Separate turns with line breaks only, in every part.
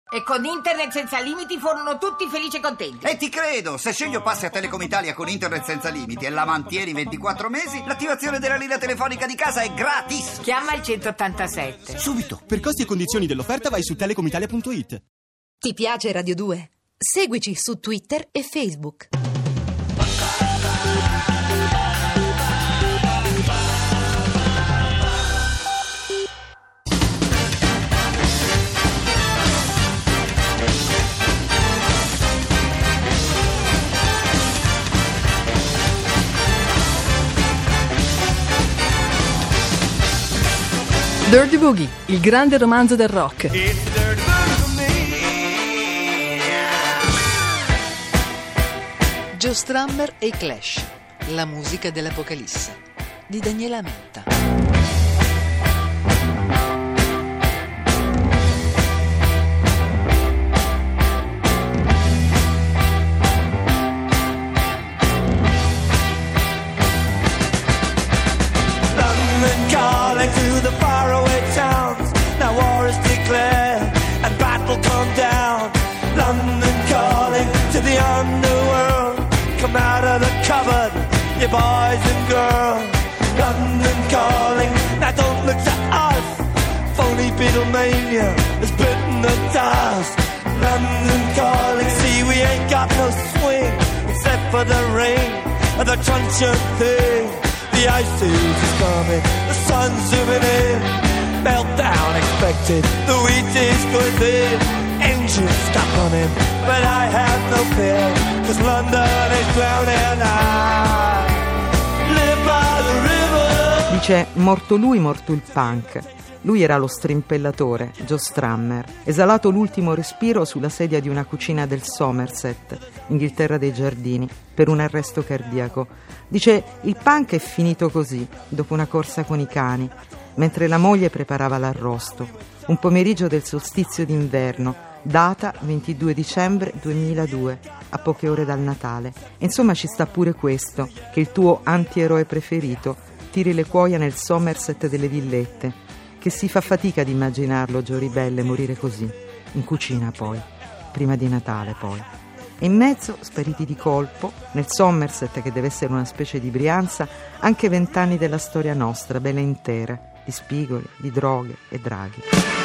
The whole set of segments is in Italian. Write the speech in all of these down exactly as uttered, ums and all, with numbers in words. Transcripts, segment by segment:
E con internet senza limiti furono tutti felici e contenti.
E ti credo, se Sceglio passi a Telecom Italia con internet senza limiti e la mantieni ventiquattro mesi, l'attivazione della linea telefonica di casa è gratis.
Chiama il centottantasette.
Subito. Per costi e condizioni dell'offerta vai su telecom italia punto it.
Ti piace Radio due? Seguici su Twitter e Facebook.
Dirty Boogie, il grande romanzo del rock.
Joe Strummer e i Clash, la musica dell'Apocalisse, di Daniela Menta.
Calling to the faraway towns. Now war is declared and battle come down. London calling to the underworld. Come out of the cupboard, you boys and girls. London calling, now don't look to us. Phony Beatlemania has bitten the dust. London calling, see we ain't got no swing except for the rain and the truncheon thing. The ice age is coming, the sun's zooming in. Meltdown expected, the wheat is good in. Engines stop running, but I have no fear, cause London is drowning. I live by the river.
Dice, morto lui, morto il punk. Lui era lo strimpellatore, Joe Strummer, esalato l'ultimo respiro sulla sedia di una cucina del Somerset, Inghilterra dei Giardini, per un arresto cardiaco. Dice, il punk è finito così, dopo una corsa con i cani, mentre la moglie preparava l'arrosto. Un pomeriggio del solstizio d'inverno, data ventidue dicembre duemiladue, a poche ore dal Natale. E insomma ci sta pure questo, che il tuo antieroe preferito tiri le cuoia nel Somerset delle Villette, che si fa fatica ad immaginarlo, Joe Ribelle, morire così, in cucina poi, prima di Natale poi. E in mezzo, spariti di colpo, nel Somerset, che deve essere una specie di Brianza, anche vent'anni della storia nostra, bella intera, di spigoli, di droghe e draghi.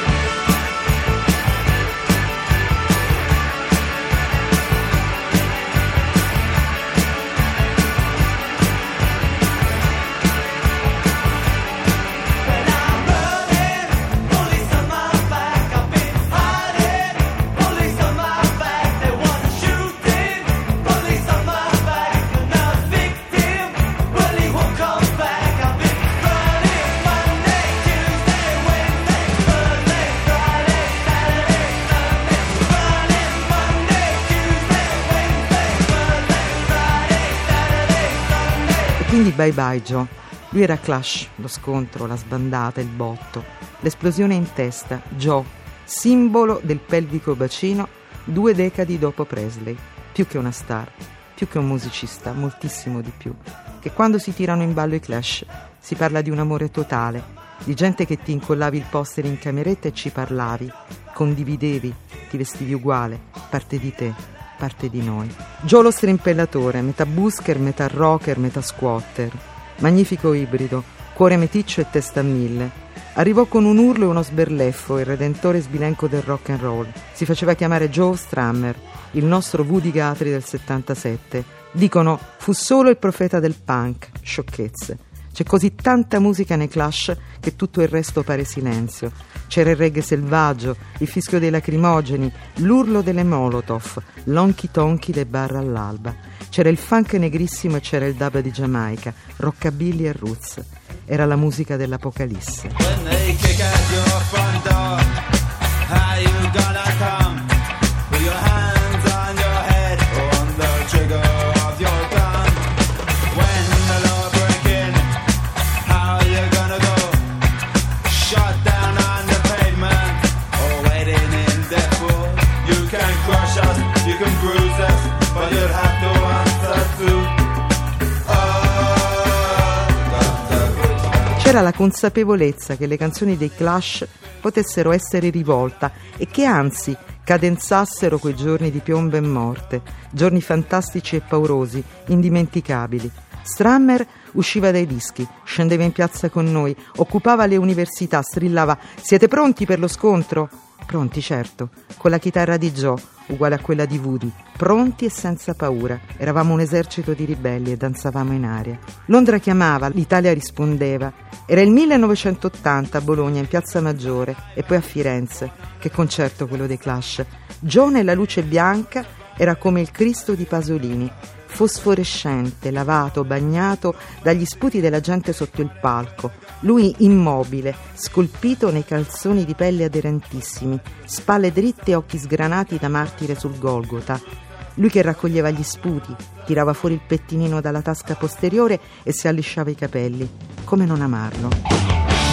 Quindi bye bye Joe. Lui era Clash, lo scontro, la sbandata, il botto, l'esplosione in testa. Joe, simbolo del pelvico bacino, due decadi dopo Presley. Più che una star, più che un musicista, moltissimo di più. Che quando si tirano in ballo i Clash si parla di un amore totale, di gente che ti incollavi il poster in cameretta e ci parlavi, condividevi, ti vestivi uguale, parte di te, parte di noi. Joe lo strimpellatore, metà busker, metà rocker, metà squatter. Magnifico ibrido, cuore meticcio e testa a mille. Arrivò con un urlo e uno sberleffo, il redentore sbilenco del rock and roll. Si faceva chiamare Joe Strummer, il nostro Woody Guthrie del settantasette. Dicono, fu solo il profeta del punk. Sciocchezze. C'è così tanta musica nei Clash che tutto il resto pare silenzio. C'era il reggae selvaggio, il fischio dei lacrimogeni, l'urlo delle Molotov, l'onky tonky dei bar all'alba. C'era il funk negrissimo e c'era il dub di Giamaica, rockabilly e roots. Era la musica dell'Apocalisse.
When they kick at your front door, how you gonna come? With your hands on your head, on the trigger of your gun. When the law break in, how you gonna go? Shot down on the pavement, or waiting in death row. You can crush us, you can bruise us, but you'll have to answer to.
C'era la consapevolezza che le canzoni dei Clash potessero essere rivolta e che anzi scadenzassero quei giorni di piombo e morte, giorni fantastici e paurosi, indimenticabili. Strammer usciva dai dischi, scendeva in piazza con noi, occupava le università, strillava «Siete pronti per lo scontro?» Pronti, certo, con la chitarra di Joe, uguale a quella di Woody, pronti e senza paura. Eravamo un esercito di ribelli e danzavamo in aria. Londra chiamava, l'Italia rispondeva. Era il millenovecentottanta a Bologna, in Piazza Maggiore, e poi a Firenze. Che concerto quello dei Clash. Joe nella luce bianca era come il Cristo di Pasolini, fosforescente, lavato, bagnato dagli sputi della gente sotto il palco. Lui immobile, scolpito nei calzoni di pelle aderentissimi, spalle dritte e occhi sgranati da martire sul Golgota. Lui che raccoglieva gli sputi, tirava fuori il pettinino dalla tasca posteriore e si allisciava i capelli. Come non amarlo?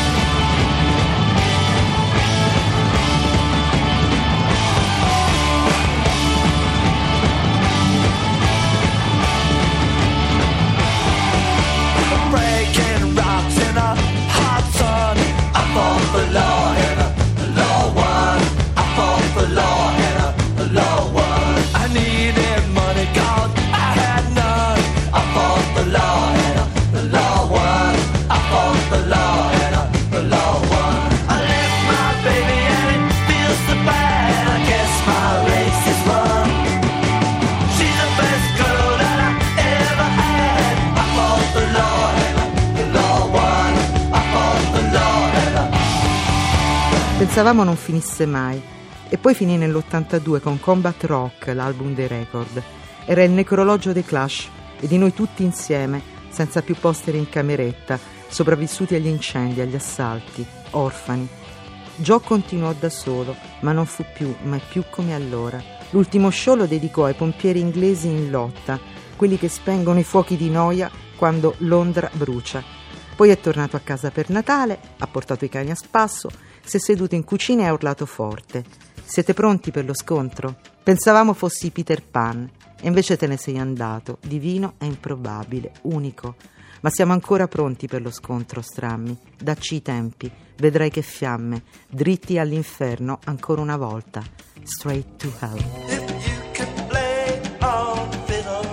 Pensavamo non finisse mai, e poi finì nell'ottantadue con Combat Rock, l'album dei Record. Era il necrologio dei Clash e di noi tutti insieme, senza più posteri in cameretta, sopravvissuti agli incendi, agli assalti, orfani. Joe continuò da solo, ma non fu più, mai più come allora. L'ultimo show lo dedicò ai pompieri inglesi in lotta, quelli che spengono i fuochi di noia quando Londra brucia. Poi è tornato a casa per Natale, ha portato i cani a spasso, si è seduto in cucina e ha urlato forte. Siete pronti per lo scontro? Pensavamo fossi Peter Pan, e invece te ne sei andato, divino e improbabile, unico. Ma siamo ancora pronti per lo scontro, Strammi. Dacci i tempi, vedrai che fiamme, dritti all'inferno ancora una volta. Straight to hell.
If you could play on fiddle,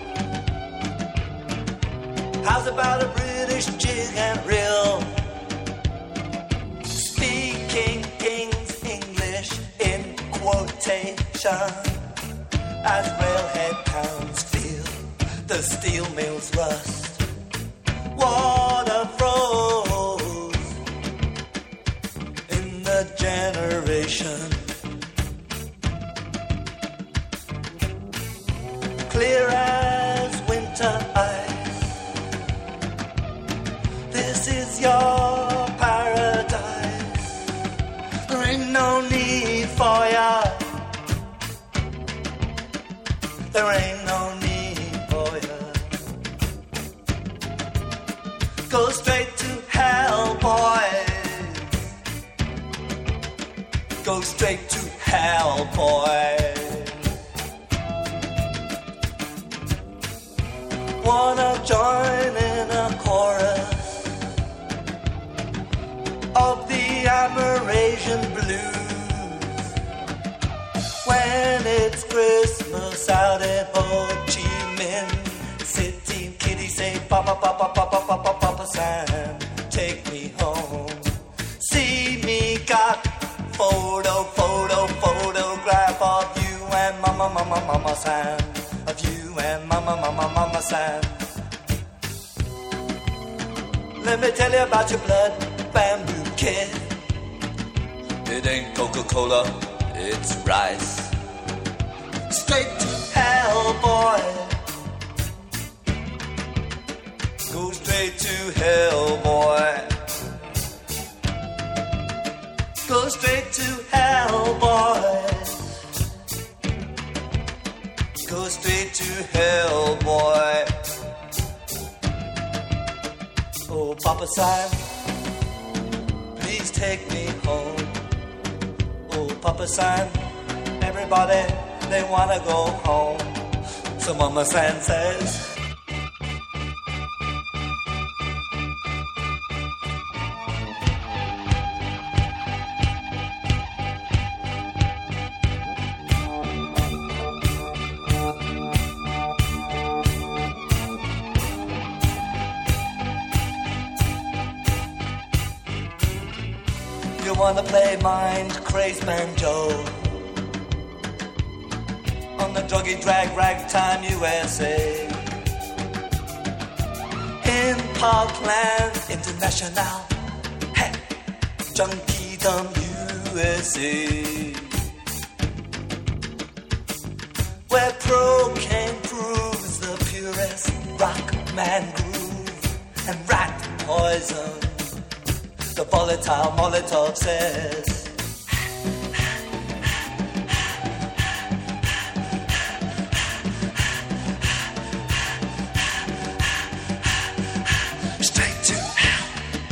how's about a British jig and reel? Speaking King's English in quotation, as railhead towns feel the steel mills rust, water froze in the generation. Clear as winter ice, this is your paradise. There ain't no need for ya, there ain't no need for ya. Go straight to hell, boys. Go straight to hell, boys. Wanna join in a chorus of the Amerasian blues when it's Christmas out in Ho Chi Minh City. Kitty say, Papa, Papa, Papa, Papa, Papa Sam, take me home. See me got photo, photo, photograph of you and Mama, Mama, Mama Sam. Of you and Mama, Mama, Mama Sam. Let me tell you about your blood bamboo kid. It ain't Coca-Cola, it's rice. Straight to hell, boy. Go straight to hell, boy. Go straight to hell, boy. Go straight to hell, boy. Oh, Papa Sam, please take me home. Oh, Papa Sam, everybody, they wanna go home. So Mama Sam says, wanna play mind crazed banjo on the druggy drag ragtime U S A. In Parkland International, hey, Junkiedom U S A, where cocaine proves the purest rock man groove and rat poison. The volatile Molotov says, straight to hell.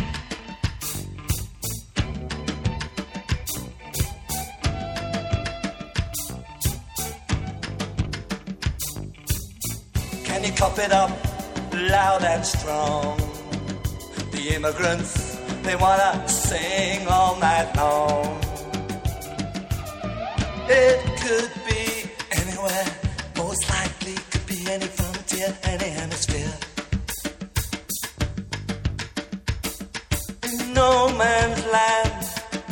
Can you cop it up loud and strong? The immigrants, they wanna sing all night long. It could be anywhere, most likely could be any frontier, any hemisphere. In no man's land,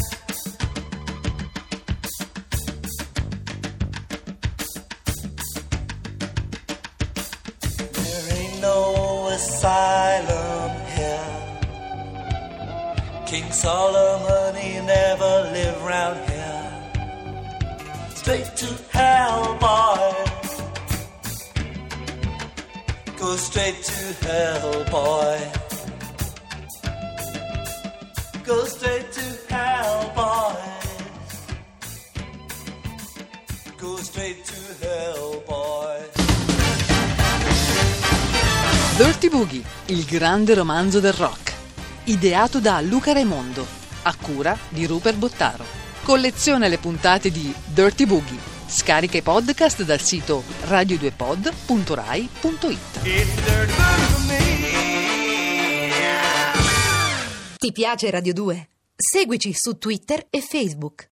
there ain't no asylum here. King Solomon, he never lived round here. Straight to hell, boy. Go straight to hell, boy. Go straight to hell, boy. Go straight to hell, boy.
Dirty Boogie, il grande romanzo del rock. Ideato da Luca Raimondo, a cura di Rupert Bottaro. Colleziona le puntate di Dirty Boogie. Scarica i podcast dal sito radio due pod punto rai punto it.
Ti piace Radio due? Seguici su Twitter e Facebook.